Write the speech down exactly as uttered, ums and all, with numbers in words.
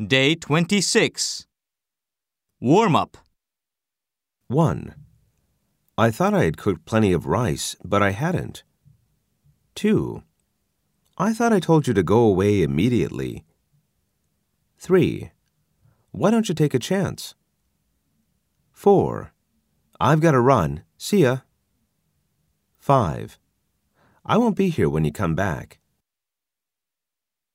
Day twenty-six. Warm-up. one. I thought I had cooked plenty of rice, but I hadn't. two. I thought I told you to go away immediately. three. Why don't you take a chance? four. I've got to run. See ya. five. I won't be here when you come back.